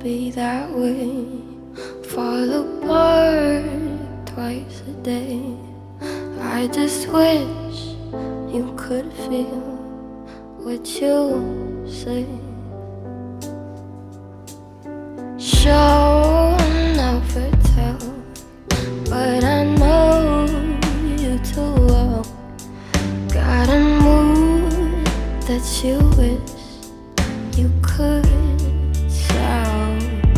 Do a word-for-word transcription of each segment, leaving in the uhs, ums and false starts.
be that way. Fall apart twice a day. I just wish you could feel what you say. Show never tell, but I know you too well. Got a mood that you wish you could tell.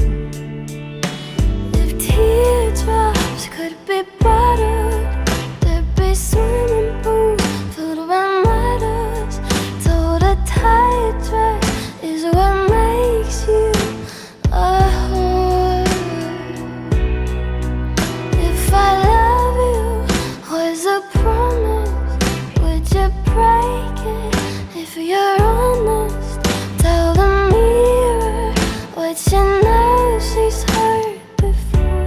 If teardrops could be bottled, there'd be swimming pools filled with letters. Told a tight dress is what makes you a whore. If I love you was a promise, would you break it? If you're honest, tell the mirror what you know she's heard before.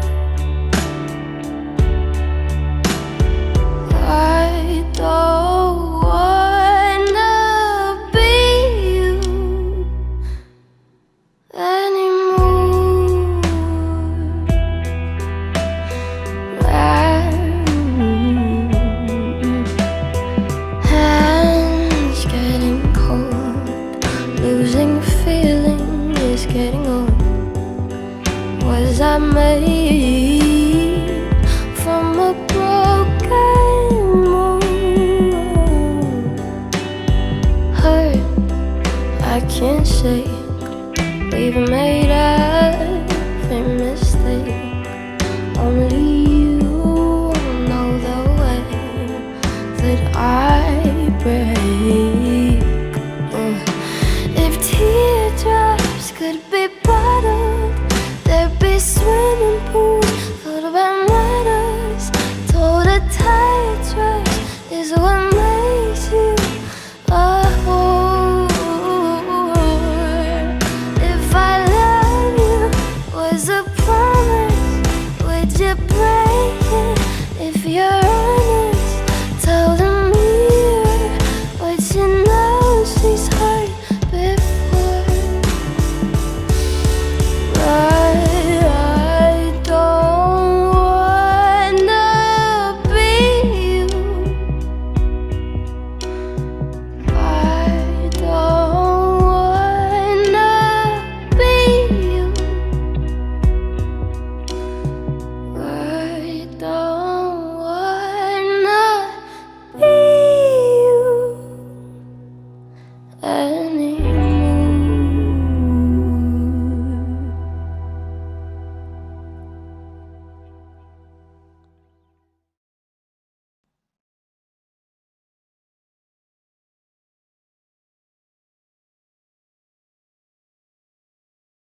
I don't wanna be you anymore. Hands getting cold, losing feeling is getting old. Was I made from a broken mold? Hurt, I can't shake. We've made every mistake. Only you know the way that I break. Uh, If teardrops could be